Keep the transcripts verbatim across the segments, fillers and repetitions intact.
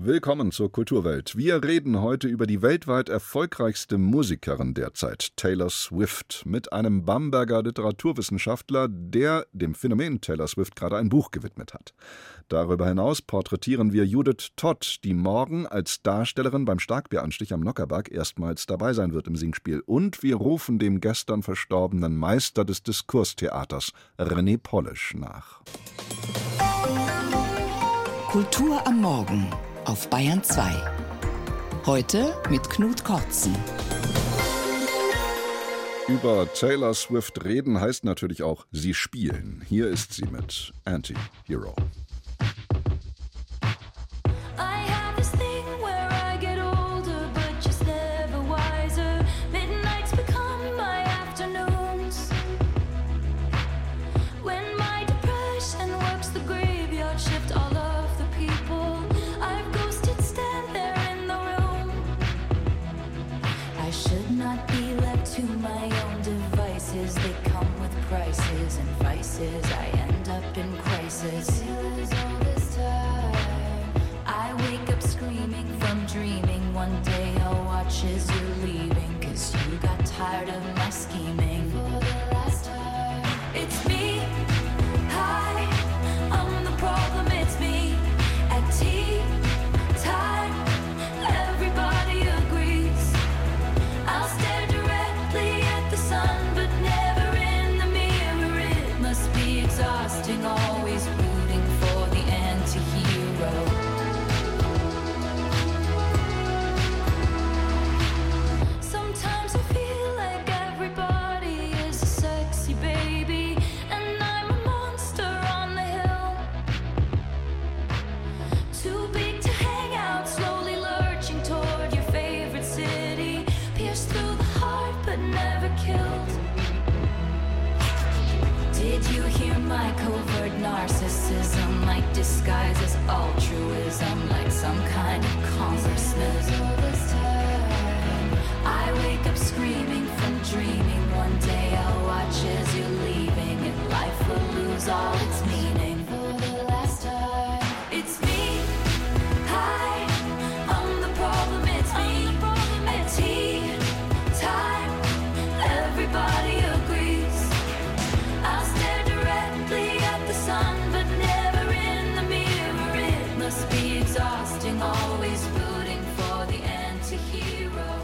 Willkommen zur Kulturwelt. Wir reden heute über die weltweit erfolgreichste Musikerin derzeit, Taylor Swift, mit einem Bamberger Literaturwissenschaftler, der dem Phänomen Taylor Swift gerade ein Buch gewidmet hat. Darüber hinaus porträtieren wir Judith Todd, die morgen als Darstellerin beim Starkbieranstich am Nockherberg erstmals dabei sein wird im Singspiel. Und wir rufen dem gestern verstorbenen Meister des Diskurstheaters, René Polish, nach. Kultur am Morgen auf Bayern zwei. Heute mit Knut Kortzen. Über Taylor Swift reden heißt natürlich auch sie spielen. Hier ist sie mit Anti-Hero. I end up in crisis. I wake up screaming from dreaming. One day I'll watch as you're leaving, 'cause you got tired of my scheming. For the last time, it's me. Hi, I'm the problem, it's me. At tea time, everybody agrees. I'll stare directly at the sun, but never in the mirror. It must be exhausting, always rooting for the anti-hero. Sometimes I feel like everybody is a sexy baby, and I'm a monster on the hill. Too big to hang out, slowly lurching toward your favorite city. Pierced through the heart, but never killed. Did you hear my covert narcissism? Like disguise as altruism, like some kind of consciousness. I wake up screaming from dreaming. One day I'll watch as you're leaving, and life will lose all its meaning. For the last time, it's me. Hi, I'm the problem, it's me. At tea time, everybody agrees. I'll stare directly at the sun, but never in the mirror. It must be exhausting, always rooting for the anti-hero.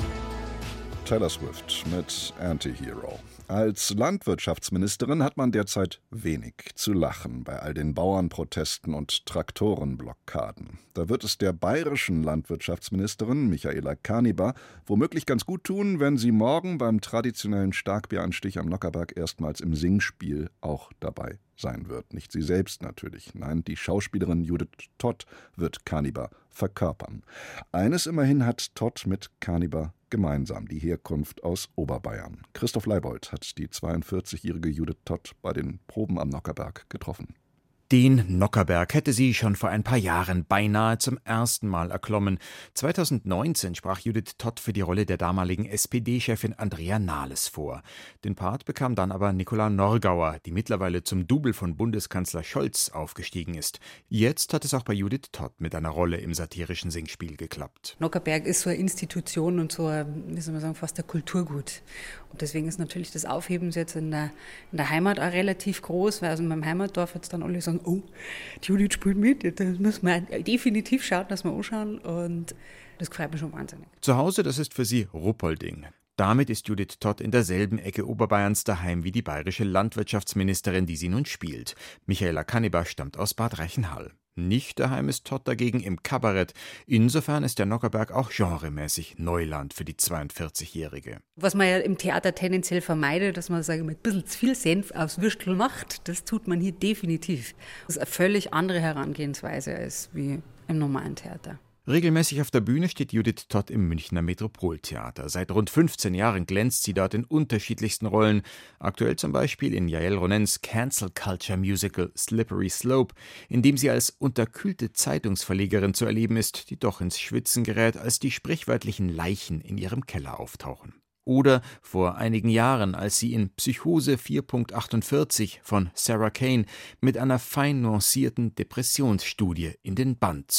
Taylor Swift mit Anti-Hero. Als Landwirtschaftsministerin hat man derzeit wenig zu lachen bei all den Bauernprotesten und Traktorenblockaden. Da wird es der bayerischen Landwirtschaftsministerin Michaela Kaniber womöglich ganz gut tun, wenn sie morgen beim traditionellen Starkbieranstich am Nockherberg erstmals im Singspiel auch dabei sein wird. Nicht sie selbst natürlich. Nein, die Schauspielerin Judith Todd wird Kaniber verkörpern. Eines immerhin hat Todd mit Kaniber gemeinsam, die Herkunft aus Oberbayern. Christoph Leibold hat die zweiundvierzigjährige Judith Todd bei den Proben am Nockherberg getroffen. Den Nockherberg hätte sie schon vor ein paar Jahren beinahe zum ersten Mal erklommen. zweitausendneunzehn sprach Judith Todd für die Rolle der damaligen S P D-Chefin Andrea Nahles vor. Den Part bekam dann aber Nicola Norgauer, die mittlerweile zum Double von Bundeskanzler Scholz aufgestiegen ist. Jetzt hat es auch bei Judith Todd mit einer Rolle im satirischen Singspiel geklappt. Nockherberg ist so eine Institution und so, ein, wie soll man sagen, fast ein Kulturgut. Und deswegen ist natürlich das Aufheben jetzt in der, in der Heimat auch relativ groß, weil also in meinem Heimatdorf jetzt dann alle sagen, oh, die Judith spielt mit, das müssen wir definitiv schauen, dass wir anschauen, und das freut mich schon wahnsinnig. Zu Hause, das ist für sie Ruppolding. Damit ist Judith Todd in derselben Ecke Oberbayerns daheim wie die bayerische Landwirtschaftsministerin, die sie nun spielt. Michaela Kaniber stammt aus Bad Reichenhall. Nicht daheim ist Todd dagegen im Kabarett. Insofern ist der Nockherberg auch genremäßig Neuland für die zweiundvierzigjährige. Was man ja im Theater tendenziell vermeidet, dass man, sage ich mal, ein bisschen zu viel Senf aufs Würstel macht, das tut man hier definitiv. Das ist eine völlig andere Herangehensweise als wie im normalen Theater. Regelmäßig auf der Bühne steht Judith Todd im Münchner Metropoltheater. Seit rund fünfzehn Jahren glänzt sie dort in unterschiedlichsten Rollen. Aktuell zum Beispiel in Jael Ronens Cancel Culture Musical Slippery Slope, in dem sie als unterkühlte Zeitungsverlegerin zu erleben ist, die doch ins Schwitzen gerät, als die sprichwörtlichen Leichen in ihrem Keller auftauchen. Oder vor einigen Jahren, als sie in Psychose vier Punkt achtundvierzig von Sarah Kane mit einer fein nuancierten Depressionsstudie in den Bann zog.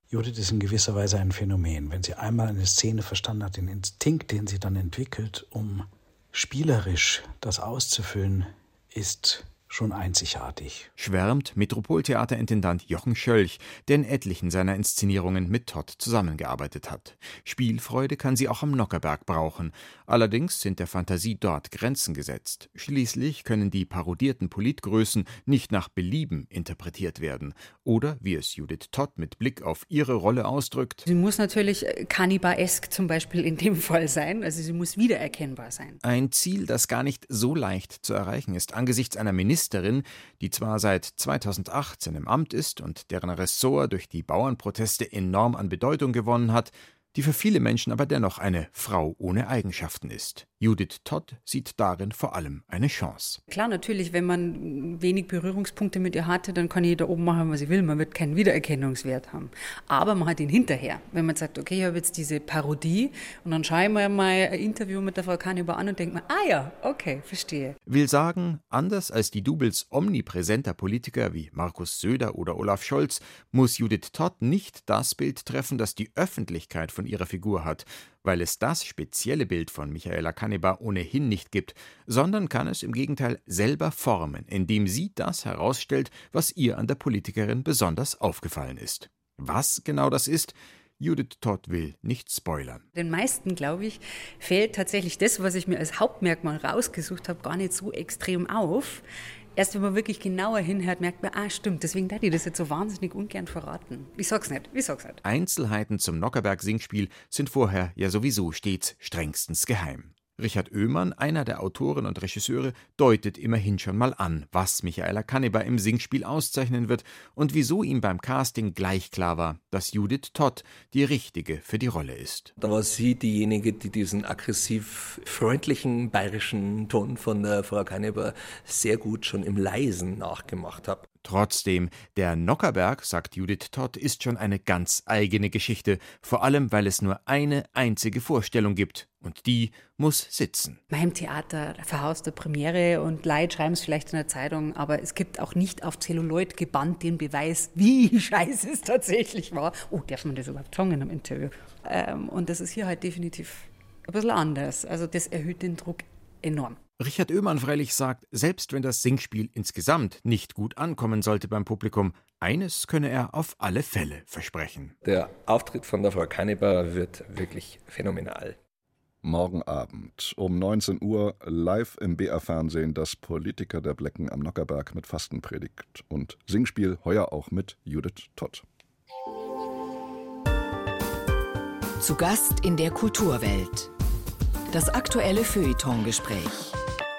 Judith ist in gewisser Weise ein Phänomen. Wenn sie einmal eine Szene verstanden hat, den Instinkt, den sie dann entwickelt, um spielerisch das auszufüllen, ist schon einzigartig. Schwärmt Metropoltheaterintendant Jochen Schölch, der in etlichen seiner Inszenierungen mit Todt zusammengearbeitet hat. Spielfreude kann sie auch am Nockherberg brauchen. Allerdings sind der Fantasie dort Grenzen gesetzt. Schließlich können die parodierten Politgrößen nicht nach Belieben interpretiert werden. Oder, wie es Judith Todt mit Blick auf ihre Rolle ausdrückt: Sie muss natürlich Cannibalesk zum Beispiel in dem Fall sein, also sie muss wiedererkennbar sein. Ein Ziel, das gar nicht so leicht zu erreichen ist, angesichts einer Ministerin, die zwar seit zweitausendachtzehn im Amt ist und deren Ressort durch die Bauernproteste enorm an Bedeutung gewonnen hat, die für viele Menschen aber dennoch eine Frau ohne Eigenschaften ist. Judith Todt sieht darin vor allem eine Chance. Klar, natürlich, wenn man wenig Berührungspunkte mit ihr hatte, dann kann jeder oben machen, was sie will. Man wird keinen Wiedererkennungswert haben. Aber man hat ihn hinterher. Wenn man sagt, okay, ich habe jetzt diese Parodie und dann schaue ich mir mal ein Interview mit der Frau Cannibal an und denke mir, ah ja, okay, verstehe. Will sagen, anders als die Doubles omnipräsenter Politiker wie Markus Söder oder Olaf Scholz, muss Judith Todt nicht das Bild treffen, das die Öffentlichkeit von ihrer Figur hat, weil es das spezielle Bild von Michaela Cannibal ohnehin nicht gibt, sondern kann es im Gegenteil selber formen, indem sie das herausstellt, was ihr an der Politikerin besonders aufgefallen ist. Was genau das ist, Judith Todt will nicht spoilern. Den meisten, glaube ich, fällt tatsächlich das, was ich mir als Hauptmerkmal rausgesucht habe, gar nicht so extrem auf. Erst wenn man wirklich genauer hinhört, merkt man, ah stimmt, deswegen darf ich das jetzt so wahnsinnig ungern verraten. Ich sag's nicht, ich sag's nicht. Einzelheiten zum Nockherberg-Singspiel sind vorher ja sowieso stets strengstens geheim. Richard Oehmann, einer der Autoren und Regisseure, deutet immerhin schon mal an, was Michaela Cannibal im Singspiel auszeichnen wird und wieso ihm beim Casting gleich klar war, dass Judith Todt die richtige für die Rolle ist. Da war sie diejenige, die diesen aggressiv freundlichen bayerischen Ton von der Frau Cannibal sehr gut schon im Leisen nachgemacht hat. Trotzdem, der Nockherberg, sagt Judith Todt, ist schon eine ganz eigene Geschichte, vor allem, weil es nur eine einzige Vorstellung gibt und die muss sitzen. Beim Theater verhaust der Premiere und Leute schreiben es vielleicht in der Zeitung, aber es gibt auch nicht auf Zelluloid gebannt den Beweis, wie scheiße es tatsächlich war. Oh, darf man das überhaupt sagen in einem Interview? Ähm, und das ist hier halt definitiv ein bisschen anders. Also das erhöht den Druck enorm. Richard Oehmann freilich sagt, selbst wenn das Singspiel insgesamt nicht gut ankommen sollte beim Publikum, eines könne er auf alle Fälle versprechen. Der Auftritt von der Frau Cannibal wird wirklich phänomenal. Morgen Abend um neunzehn Uhr live im B R-Fernsehen das Politiker der Blecken am Nockherberg mit Fastenpredigt und Singspiel heuer auch mit Judith Todt. Zu Gast in der Kulturwelt. Das aktuelle Feuilleton-Gespräch.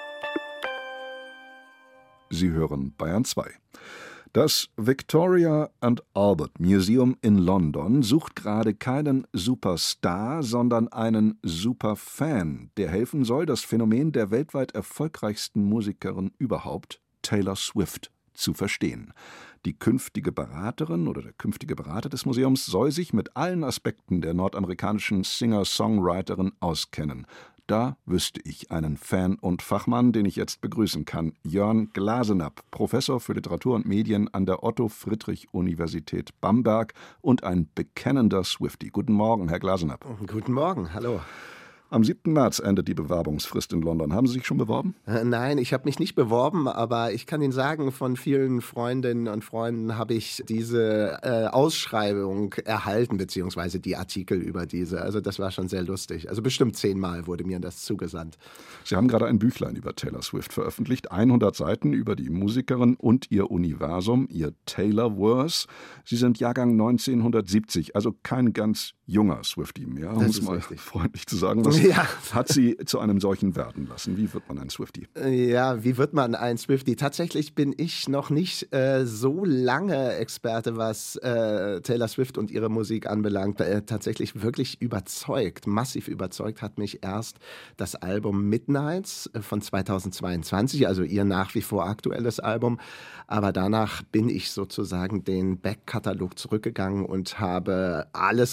Sie hören Bayern zwei. Das Victoria and Albert Museum in London sucht gerade keinen Superstar, sondern einen Superfan, der helfen soll, das Phänomen der weltweit erfolgreichsten Musikerin überhaupt, Taylor Swift, zu verstehen. Die künftige Beraterin oder der künftige Berater des Museums soll sich mit allen Aspekten der nordamerikanischen Singer-Songwriterin auskennen. Da wüsste ich einen Fan und Fachmann, den ich jetzt begrüßen kann. Jörn Glasenapp, Professor für Literatur und Medien an der Otto-Friedrich-Universität Bamberg und ein bekennender Swiftie. Guten Morgen, Herr Glasenapp. Guten Morgen, hallo. Am siebten März endet die Bewerbungsfrist in London. Haben Sie sich schon beworben? Äh, nein, ich habe mich nicht beworben, aber ich kann Ihnen sagen, von vielen Freundinnen und Freunden habe ich diese äh, Ausschreibung erhalten, beziehungsweise die Artikel über diese. Also das war schon sehr lustig. Also bestimmt zehnmal wurde mir das zugesandt. Sie haben gerade ein Büchlein über Taylor Swift veröffentlicht. hundert Seiten über die Musikerin und ihr Universum, ihr Taylorverse. Sie sind Jahrgang neunzehnhundertsiebzig, also kein ganz junger Swiftie mehr, um es mal richtig freundlich zu sagen. Was ja. hat Sie zu einem solchen werden lassen? Wie wird man ein Swiftie? Ja, wie wird man ein Swiftie? Tatsächlich bin ich noch nicht äh, so lange Experte, was äh, Taylor Swift und ihre Musik anbelangt. Äh, tatsächlich wirklich überzeugt, massiv überzeugt hat mich erst das Album Midnights von zweitausendzweiundzwanzig, also ihr nach wie vor aktuelles Album. Aber danach bin ich sozusagen den Backkatalog zurückgegangen und habe alles gehört,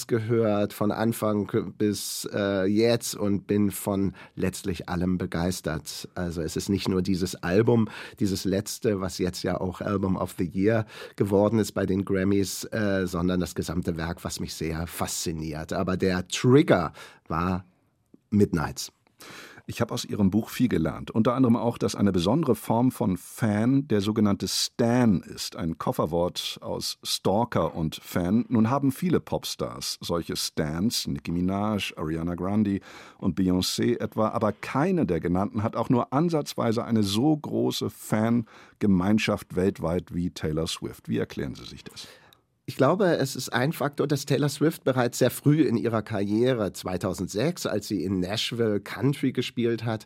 angehört, von Anfang bis äh, jetzt und bin von letztlich allem begeistert. Also es ist nicht nur dieses Album, dieses letzte, was jetzt ja auch Album of the Year geworden ist bei den Grammys, äh, sondern das gesamte Werk, was mich sehr fasziniert. Aber der Trigger war Midnights. Ich habe aus Ihrem Buch viel gelernt. Unter anderem auch, dass eine besondere Form von Fan der sogenannte Stan ist. Ein Kofferwort aus Stalker und Fan. Nun haben viele Popstars solche Stans, Nicki Minaj, Ariana Grande und Beyoncé etwa. Aber keine der genannten hat auch nur ansatzweise eine so große Fangemeinschaft weltweit wie Taylor Swift. Wie erklären Sie sich das? Ich glaube, es ist ein Faktor, dass Taylor Swift bereits sehr früh in ihrer Karriere, zweitausendsechs, als sie in Nashville Country gespielt hat,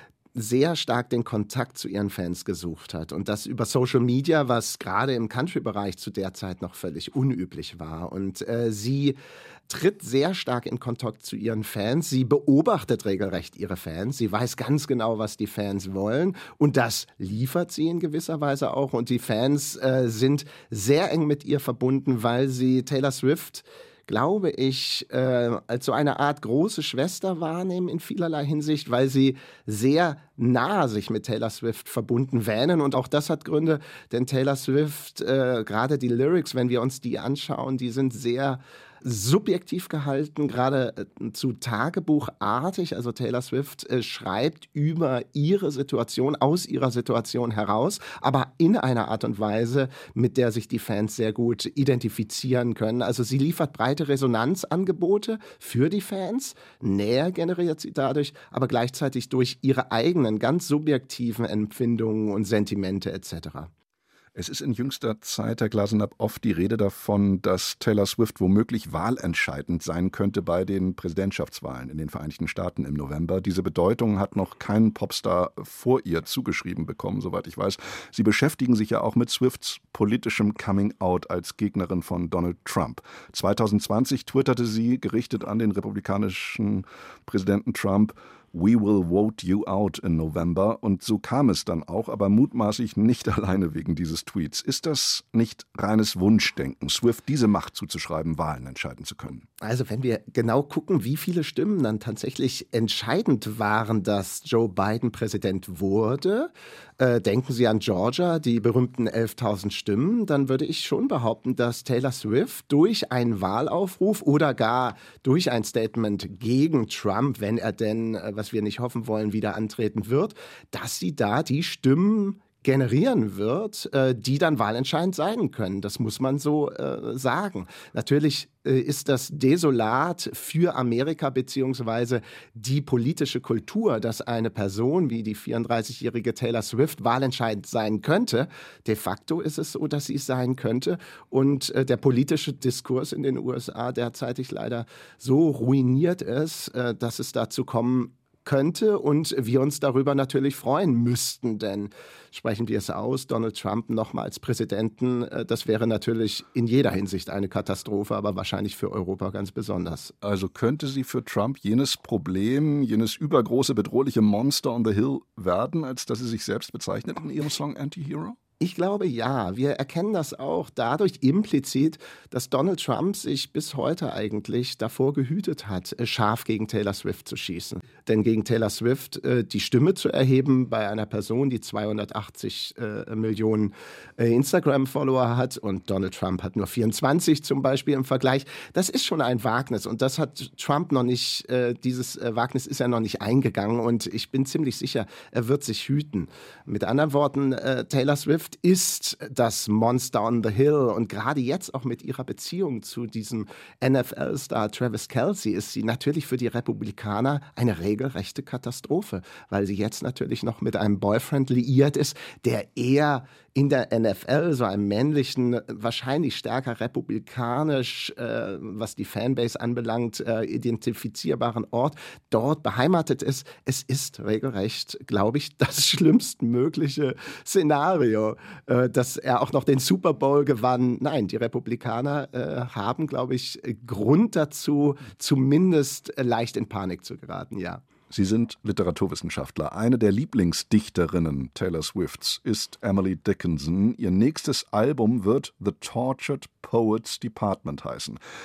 sehr stark den Kontakt zu ihren Fans gesucht hat. Und das über Social Media, was gerade im Country-Bereich zu der Zeit noch völlig unüblich war. Und äh, sie tritt sehr stark in Kontakt zu ihren Fans. Sie beobachtet regelrecht ihre Fans. Sie weiß ganz genau, was die Fans wollen. Und das liefert sie in gewisser Weise auch. Und die Fans äh, sind sehr eng mit ihr verbunden, weil sie Taylor Swift, glaube ich, äh, als so eine Art große Schwester wahrnehmen in vielerlei Hinsicht, weil sie sehr nah sich mit Taylor Swift verbunden wähnen. Und auch das hat Gründe, denn Taylor Swift, äh, gerade die Lyrics, wenn wir uns die anschauen, die sind sehr subjektiv gehalten, gerade äh, zu Tagebuchartig. Also Taylor Swift äh, schreibt über ihre Situation, aus ihrer Situation heraus, aber in einer Art und Weise, mit der sich die Fans sehr gut identifizieren können. Also sie liefert breite Resonanzangebote für die Fans, Nähe generiert sie dadurch, aber gleichzeitig durch ihre eigenen, ganz subjektiven Empfindungen und Sentimente et cetera. Es ist in jüngster Zeit, Herr Glasenapp, oft die Rede davon, dass Taylor Swift womöglich wahlentscheidend sein könnte bei den Präsidentschaftswahlen in den Vereinigten Staaten im November. Diese Bedeutung hat noch kein Popstar vor ihr zugeschrieben bekommen, soweit ich weiß. Sie beschäftigen sich ja auch mit Swifts politischem Coming-out als Gegnerin von Donald Trump. zweitausendzwanzig twitterte sie, gerichtet an den republikanischen Präsidenten Trump: "We will vote you out in November." Und so kam es dann auch, aber mutmaßlich nicht alleine wegen dieses Tweets. Ist das nicht reines Wunschdenken, Swift diese Macht zuzuschreiben, Wahlen entscheiden zu können? Also wenn wir genau gucken, wie viele Stimmen dann tatsächlich entscheidend waren, dass Joe Biden Präsident wurde, äh, denken Sie an Georgia, die berühmten elftausend Stimmen, dann würde ich schon behaupten, dass Taylor Swift durch einen Wahlaufruf oder gar durch ein Statement gegen Trump, wenn er denn, äh, was wir nicht hoffen wollen, wieder antreten wird, dass sie da die Stimmen generieren wird, äh, die dann wahlentscheidend sein können. Das muss man so äh, sagen. Natürlich äh, ist das desolat für Amerika beziehungsweise die politische Kultur, dass eine Person wie die vierunddreißigjährige Taylor Swift wahlentscheidend sein könnte. De facto ist es so, dass sie es sein könnte. Und äh, der politische Diskurs in den U S A derzeitig leider so ruiniert ist, äh, dass es dazu kommen könnte und wir uns darüber natürlich freuen müssten, denn sprechen wir es aus, Donald Trump nochmal als Präsidenten, das wäre natürlich in jeder Hinsicht eine Katastrophe, aber wahrscheinlich für Europa ganz besonders. Also könnte sie für Trump jenes Problem, jenes übergroße, bedrohliche Monster on the Hill werden, als dass sie sich selbst bezeichnet in ihrem Song Anti-Hero? Ich glaube, ja. Wir erkennen das auch dadurch implizit, dass Donald Trump sich bis heute eigentlich davor gehütet hat, scharf gegen Taylor Swift zu schießen. Denn gegen Taylor Swift äh, die Stimme zu erheben bei einer Person, die zweihundertachtzig äh, Millionen äh, Instagram-Follower hat und Donald Trump hat nur vierundzwanzig zum Beispiel im Vergleich, das ist schon ein Wagnis. Und das hat Trump noch nicht, äh, dieses äh, Wagnis ist er noch nicht eingegangen. Und ich bin ziemlich sicher, er wird sich hüten. Mit anderen Worten, äh, Taylor Swift ist das Monster on the Hill und gerade jetzt auch mit ihrer Beziehung zu diesem N F L-Star Travis Kelce ist sie natürlich für die Republikaner eine regelrechte Katastrophe, weil sie jetzt natürlich noch mit einem Boyfriend liiert ist, der eher in der N F L, so einem männlichen, wahrscheinlich stärker republikanisch, äh, was die Fanbase anbelangt, äh, identifizierbaren Ort, dort beheimatet ist. Es ist regelrecht, glaube ich, das schlimmstmögliche Szenario, äh, dass er auch noch den Super Bowl gewann. Nein, die Republikaner äh, haben, glaube ich, Grund dazu, zumindest leicht in Panik zu geraten, ja. Sie sind Literaturwissenschaftler. Eine der Lieblingsdichterinnen Taylor Swifts ist Emily Dickinson. Ihr nächstes Album wird The Tortured Poets Department heißen.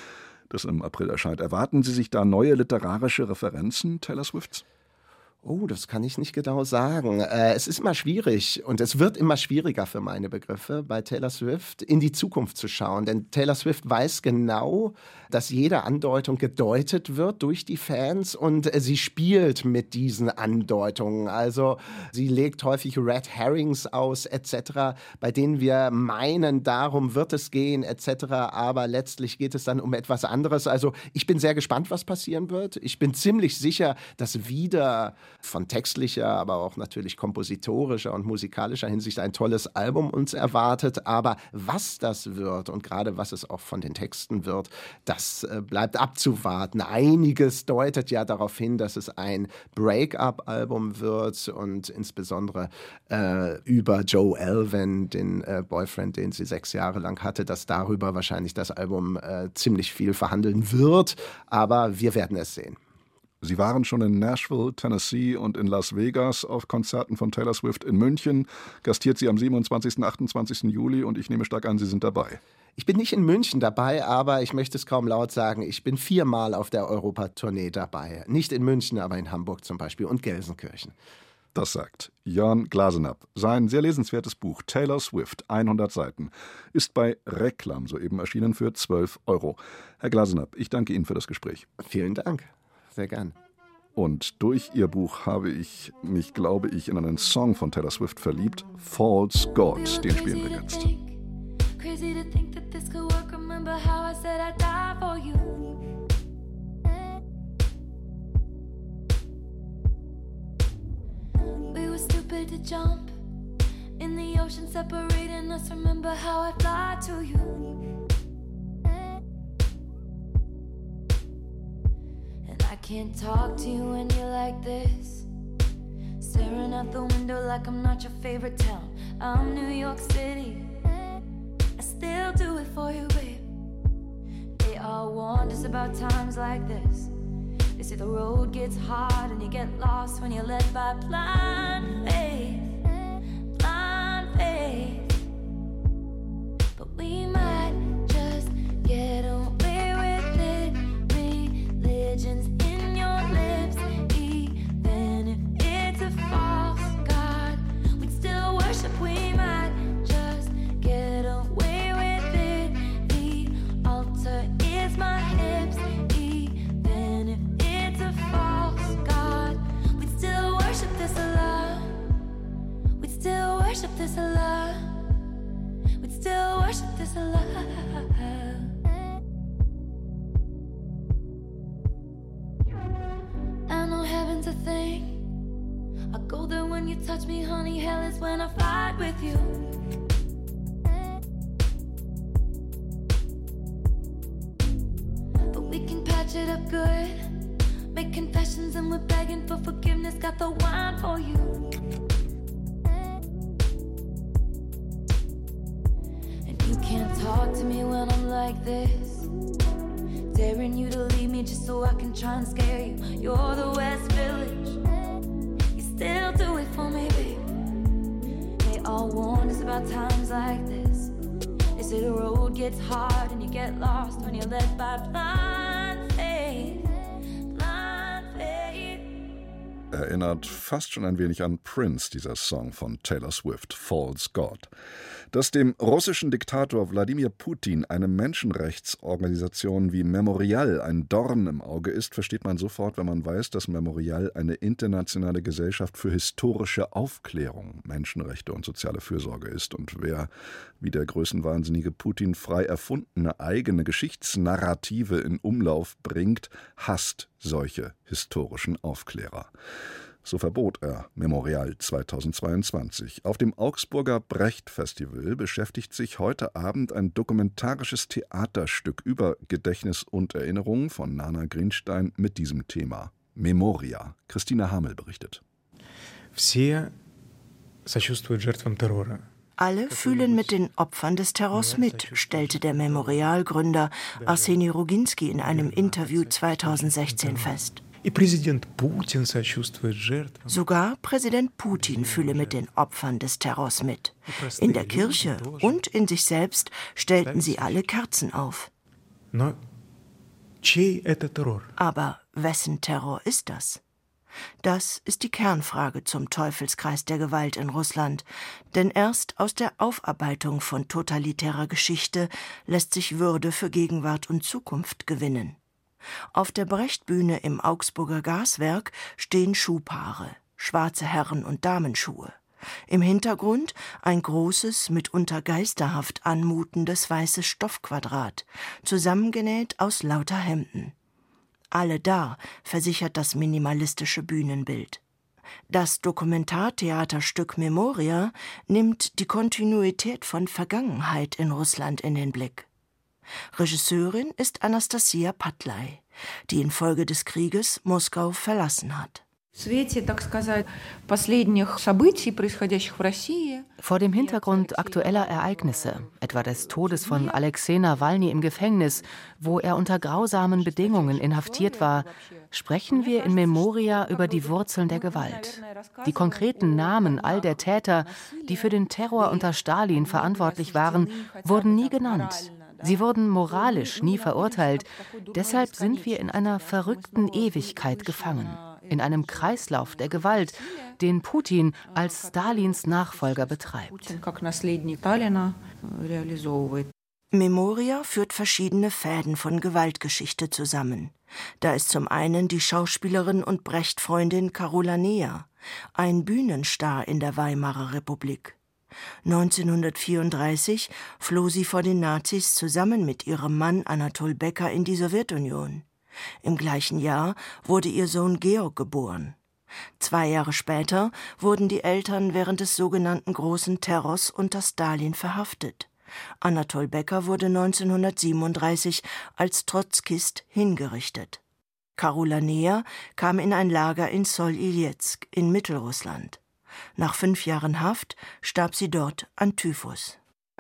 das im April erscheint. Erwarten Sie sich da neue literarische Referenzen Taylor Swifts? Oh, das kann ich nicht genau sagen. Äh, es ist immer schwierig und es wird immer schwieriger für meine Begriffe, bei Taylor Swift in die Zukunft zu schauen. Denn Taylor Swift weiß genau, dass jede Andeutung gedeutet wird durch die Fans und äh, sie spielt mit diesen Andeutungen. Also sie legt häufig Red Herrings aus et cetera, bei denen wir meinen, darum wird es gehen et cetera. Aber letztlich geht es dann um etwas anderes. Also ich bin sehr gespannt, was passieren wird. Ich bin ziemlich sicher, dass wieder von textlicher, aber auch natürlich kompositorischer und musikalischer Hinsicht ein tolles Album uns erwartet. Aber was das wird und gerade was es auch von den Texten wird, das äh, bleibt abzuwarten. Einiges deutet ja darauf hin, dass es ein Break-up-Album wird und insbesondere äh, über Joe Alwyn, den äh, Boyfriend, den sie sechs Jahre lang hatte, dass darüber wahrscheinlich das Album äh, ziemlich viel verhandeln wird. Aber wir werden es sehen. Sie waren schon in Nashville, Tennessee und in Las Vegas auf Konzerten von Taylor Swift in München. Gastiert sie am siebenundzwanzigsten und achtundzwanzigsten Juli und ich nehme stark an, Sie sind dabei. Ich bin nicht in München dabei, aber ich möchte es kaum laut sagen, ich bin viermal auf der Europatournee dabei. Nicht in München, aber in Hamburg zum Beispiel und Gelsenkirchen. Das sagt Jörn Glasenapp. Sein sehr lesenswertes Buch Taylor Swift, hundert Seiten, ist bei Reklam soeben erschienen für zwölf Euro. Herr Glasenapp, ich danke Ihnen für das Gespräch. Vielen Dank. Sehr gern. Und durch ihr Buch habe ich mich, glaube ich, in einen Song von Taylor Swift verliebt. False God, den spielen wir jetzt. Crazy to think that this could work. Remember how I said I'd die for you. We were stupid to jump in the ocean separating us. Remember how I fly to you. I can't talk to you when you're like this, staring out the window like I'm not your favorite town. I'm New York City, I still do it for you, babe. They all warned us about times like this. They say the road gets hard and you get lost when you're led by blind faith, blind faith. But we might just get away with it. Religions in your lips, even if it's a false god, we'd still worship. We might just get away with it. The altar is my hips, even if it's a false god, we'd still worship this Allah. We'd still worship this Allah. We'd still worship this Allah. A thing. I go there when you touch me, honey. Hell is when I fight with you. But we can patch it up good, make confessions and we're begging for forgiveness. Got the wine for you. And you can't talk to me when I'm like this, daring you to leave me just so I can try and scare you. You're the West Village, you still do it for me, babe. They all warned us about times like this. They say the road gets hard and you get lost when you're led by blind faith, blind faith. Erinnert fast schon ein wenig an Prince, dieser Song von Taylor Swift, False God. Dass dem russischen Diktator Wladimir Putin eine Menschenrechtsorganisation wie Memorial ein Dorn im Auge ist, versteht man sofort, wenn man weiß, dass Memorial eine internationale Gesellschaft für historische Aufklärung, Menschenrechte und soziale Fürsorge ist. Und wer, wie der größenwahnsinnige Putin, frei erfundene eigene Geschichtsnarrative in Umlauf bringt, hasst solche historischen Aufklärer. So verbot er Memorial zweitausendzweiundzwanzig. Auf dem Augsburger Brecht-Festival beschäftigt sich heute Abend ein dokumentarisches Theaterstück über Gedächtnis und Erinnerung von Nana Greenstein mit diesem Thema. Memoria. Christina Hamel berichtet. Alle fühlen mit den Opfern des Terrors mit, stellte der Memorial-Gründer Arseni Ruginski in einem Interview zweitausendsechzehn fest. Sogar Präsident Putin fühle mit den Opfern des Terrors mit. In der Kirche und in sich selbst stellten sie alle Kerzen auf. Aber wessen Terror ist das? Das ist die Kernfrage zum Teufelskreis der Gewalt in Russland. Denn erst aus der Aufarbeitung von totalitärer Geschichte lässt sich Würde für Gegenwart und Zukunft gewinnen. Auf der Brecht-Bühne im Augsburger Gaswerk stehen Schuhpaare, schwarze Herren- und Damenschuhe. Im Hintergrund ein großes, mitunter geisterhaft anmutendes weißes Stoffquadrat, zusammengenäht aus lauter Hemden. Alle da, versichert das minimalistische Bühnenbild. Das Dokumentartheaterstück Memoria nimmt die Kontinuität von Vergangenheit in Russland in den Blick. Regisseurin ist Anastasia Patlay, die infolge des Krieges Moskau verlassen hat. Vor dem Hintergrund aktueller Ereignisse, etwa des Todes von Alexei Nawalny im Gefängnis, wo er unter grausamen Bedingungen inhaftiert war, sprechen wir in Memoria über die Wurzeln der Gewalt. Die konkreten Namen all der Täter, die für den Terror unter Stalin verantwortlich waren, wurden nie genannt. Sie wurden moralisch nie verurteilt. Deshalb sind wir in einer verrückten Ewigkeit gefangen. In einem Kreislauf der Gewalt, den Putin als Stalins Nachfolger betreibt. Memoria führt verschiedene Fäden von Gewaltgeschichte zusammen. Da ist zum einen die Schauspielerin und Brecht-Freundin Karola Neher, ein Bühnenstar in der Weimarer Republik. neunzehnhundertvierunddreißig floh sie vor den Nazis zusammen mit ihrem Mann Anatol Becker in die Sowjetunion. Im gleichen Jahr wurde ihr Sohn Georg geboren. Zwei Jahre später wurden die Eltern während des sogenannten Großen Terrors unter Stalin verhaftet. Anatol Becker wurde neunzehnhundertsiebenunddreißig als Trotzkist hingerichtet. Karola Neher kam in ein Lager in Sol-Iljetsk in Mittelrussland. Nach fünf Jahren Haft starb sie dort an Typhus.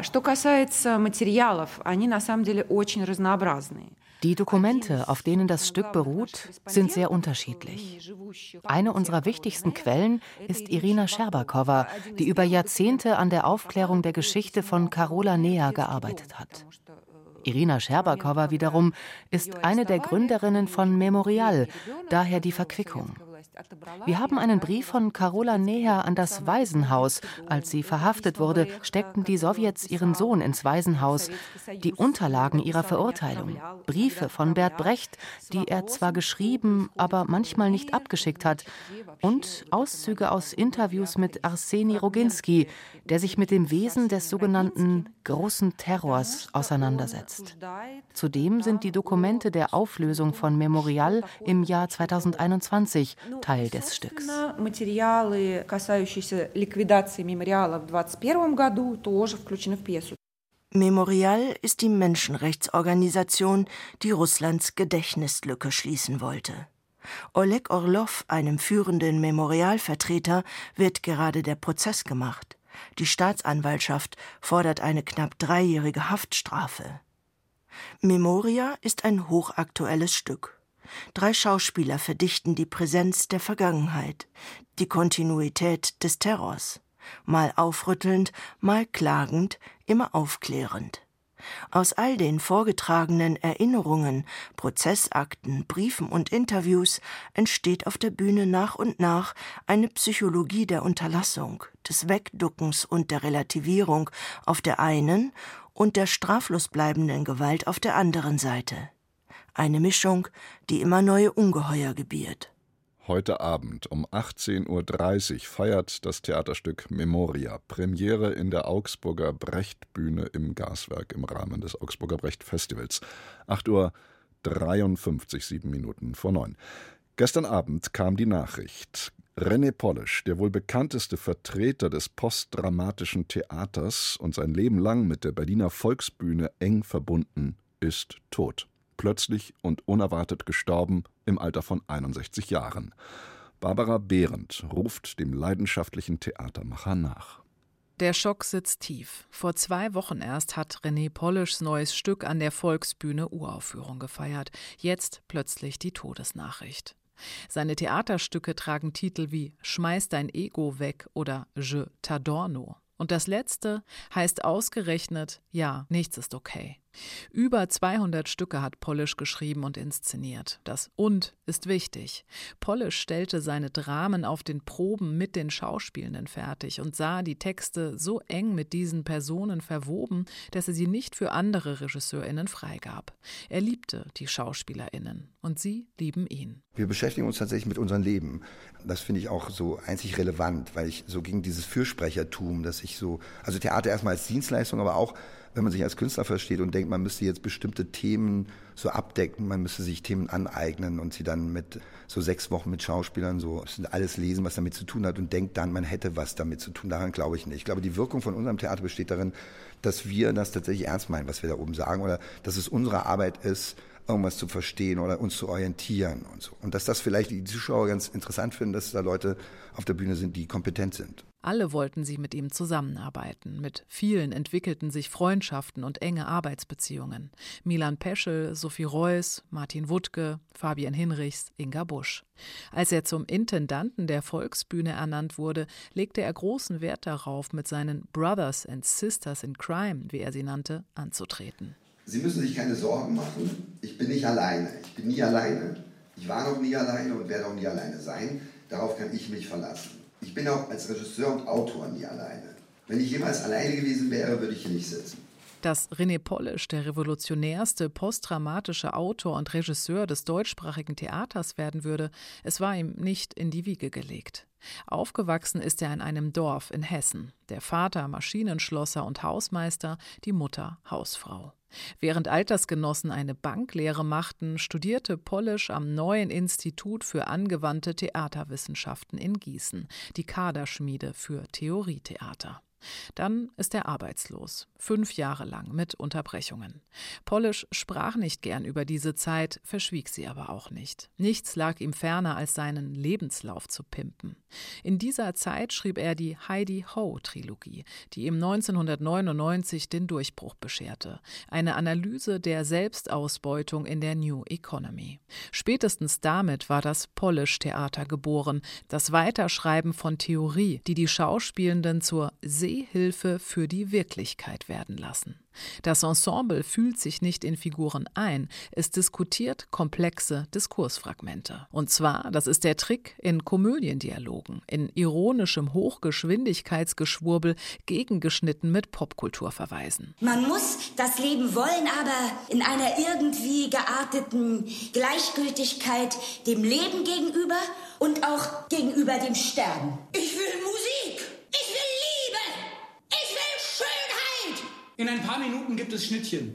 Die Dokumente, auf denen das Stück beruht, sind sehr unterschiedlich. Eine unserer wichtigsten Quellen ist Irina Scherbakowa, die über Jahrzehnte an der Aufklärung der Geschichte von Karola Neher gearbeitet hat. Irina Scherbakowa wiederum ist eine der Gründerinnen von Memorial, daher die Verquickung. Wir haben einen Brief von Karola Neher an das Waisenhaus. Als sie verhaftet wurde, steckten die Sowjets ihren Sohn ins Waisenhaus. Die Unterlagen ihrer Verurteilung, Briefe von Bert Brecht, die er zwar geschrieben, aber manchmal nicht abgeschickt hat, und Auszüge aus Interviews mit Arseni Roginski, der sich mit dem Wesen des sogenannten Großen Terrors auseinandersetzt. Zudem sind die Dokumente der Auflösung von Memorial im Jahr zweitausendeinundzwanzig Teil des Stücks. Memorial ist die Menschenrechtsorganisation, die Russlands Gedächtnislücke schließen wollte. Oleg Orlov, einem führenden Memorialvertreter, wird gerade der Prozess gemacht. Die Staatsanwaltschaft fordert eine knapp dreijährige Haftstrafe. Memoria ist ein hochaktuelles Stück. Drei Schauspieler verdichten die Präsenz der Vergangenheit, die Kontinuität des Terrors. Mal aufrüttelnd, mal klagend, immer aufklärend. Aus all den vorgetragenen Erinnerungen, Prozessakten, Briefen und Interviews entsteht auf der Bühne nach und nach eine Psychologie der Unterlassung, des Wegduckens und der Relativierung auf der einen und der straflos bleibenden Gewalt auf der anderen Seite. Eine Mischung, die immer neue Ungeheuer gebiert. Heute Abend um achtzehn Uhr dreißig feiert das Theaterstück Memoria Premiere in der Augsburger Brecht-Bühne im Gaswerk im Rahmen des Augsburger Brecht-Festivals. acht Uhr dreiundfünfzig, sieben Minuten vor neun. Gestern Abend kam die Nachricht. René Polish, der wohl bekannteste Vertreter des postdramatischen Theaters und sein Leben lang mit der Berliner Volksbühne eng verbunden, ist tot. Plötzlich und unerwartet gestorben im Alter von einundsechzig Jahren. Barbara Behrendt ruft dem leidenschaftlichen Theatermacher nach. Der Schock sitzt tief. Vor zwei Wochen erst hat René Polischs neues Stück an der Volksbühne Uraufführung gefeiert. Jetzt plötzlich die Todesnachricht. Seine Theaterstücke tragen Titel wie »Schmeiß dein Ego weg« oder »Je t'adorno«. Und das letzte heißt ausgerechnet »Ja, nichts ist okay«. Über zweihundert Stücke hat Polish geschrieben und inszeniert. Das „und“ ist wichtig. Polish stellte seine Dramen auf den Proben mit den Schauspielenden fertig und sah die Texte so eng mit diesen Personen verwoben, dass er sie nicht für andere RegisseurInnen freigab. Er liebte die SchauspielerInnen und sie lieben ihn. Wir beschäftigen uns tatsächlich mit unserem Leben. Das finde ich auch so einzig relevant, weil ich so gegen dieses Fürsprechertum, dass ich so, also Theater erstmal als Dienstleistung, aber auch, wenn man sich als Künstler versteht und denkt, man müsste jetzt bestimmte Themen so abdecken, man müsste sich Themen aneignen und sie dann mit so sechs Wochen mit Schauspielern so alles lesen, was damit zu tun hat und denkt dann, man hätte was damit zu tun. Daran glaube ich nicht. Ich glaube, die Wirkung von unserem Theater besteht darin, dass wir das tatsächlich ernst meinen, was wir da oben sagen, oder dass es unsere Arbeit ist, irgendwas zu verstehen oder uns zu orientieren und so. Und dass das vielleicht die Zuschauer ganz interessant finden, dass da Leute auf der Bühne sind, die kompetent sind. Alle wollten sie mit ihm zusammenarbeiten. Mit vielen entwickelten sich Freundschaften und enge Arbeitsbeziehungen. Milan Peschel, Sophie Reuss, Martin Wuttke, Fabian Hinrichs, Inga Busch. Als er zum Intendanten der Volksbühne ernannt wurde, legte er großen Wert darauf, mit seinen Brothers and Sisters in Crime, wie er sie nannte, anzutreten. Sie müssen sich keine Sorgen machen. Ich bin nicht alleine. Ich bin nie alleine. Ich war noch nie alleine und werde auch nie alleine sein. Darauf kann ich mich verlassen. Ich bin auch als Regisseur und Autor nie alleine. Wenn ich jemals alleine gewesen wäre, würde ich hier nicht sitzen. Dass René Polish der revolutionärste postdramatische Autor und Regisseur des deutschsprachigen Theaters werden würde, es war ihm nicht in die Wiege gelegt. Aufgewachsen ist er in einem Dorf in Hessen. Der Vater Maschinenschlosser und Hausmeister, die Mutter Hausfrau. Während Altersgenossen eine Banklehre machten, studierte Polish am Neuen Institut für angewandte Theaterwissenschaften in Gießen, die Kaderschmiede für Theorietheater. Dann ist er arbeitslos, fünf Jahre lang mit Unterbrechungen. Polish sprach nicht gern über diese Zeit, verschwieg sie aber auch nicht. Nichts lag ihm ferner, als seinen Lebenslauf zu pimpen. In dieser Zeit schrieb er die Heidi-Ho-Trilogie, die ihm neunzehnhundertneunundneunzig den Durchbruch bescherte. Eine Analyse der Selbstausbeutung in der New Economy. Spätestens damit war das Polish-Theater geboren, das Weiterschreiben von Theorie, die die Schauspielenden zur Sehhilfe für die Wirklichkeit werden lassen. Das Ensemble fühlt sich nicht in Figuren ein, es diskutiert komplexe Diskursfragmente. Und zwar, das ist der Trick, in Komödiendialogen, in ironischem Hochgeschwindigkeitsgeschwurbel, gegengeschnitten mit Popkulturverweisen. Man muss das Leben wollen, aber in einer irgendwie gearteten Gleichgültigkeit dem Leben gegenüber und auch gegenüber dem Sterben. Ich will Musik! Ich will Liebe! Ich will Schönheit! In ein paar Minuten gibt es Schnittchen.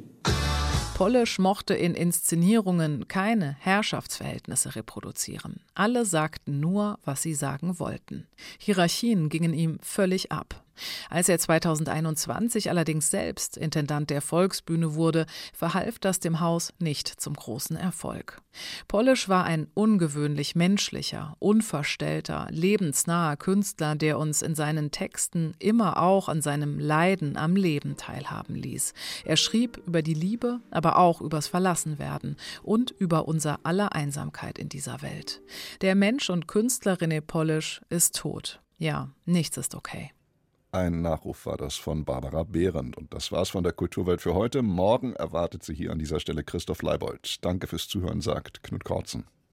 Polish mochte in Inszenierungen keine Herrschaftsverhältnisse reproduzieren. Alle sagten nur, was sie sagen wollten. Hierarchien gingen ihm völlig ab. Als er zweitausendeinundzwanzig allerdings selbst Intendant der Volksbühne wurde, verhalf das dem Haus nicht zum großen Erfolg. Polish war ein ungewöhnlich menschlicher, unverstellter, lebensnaher Künstler, der uns in seinen Texten immer auch an seinem Leiden am Leben teilhaben ließ. Er schrieb über die Liebe, aber auch übers Verlassenwerden und über unser aller Einsamkeit in dieser Welt. Der Mensch und Künstler René Polish ist tot. Ja, nichts ist okay. Ein Nachruf war das von Barbara Behrendt. Und das war's von der Kulturwelt für heute. Morgen erwartet Sie hier an dieser Stelle Christoph Leibold. Danke fürs Zuhören, sagt Knut Kortzen.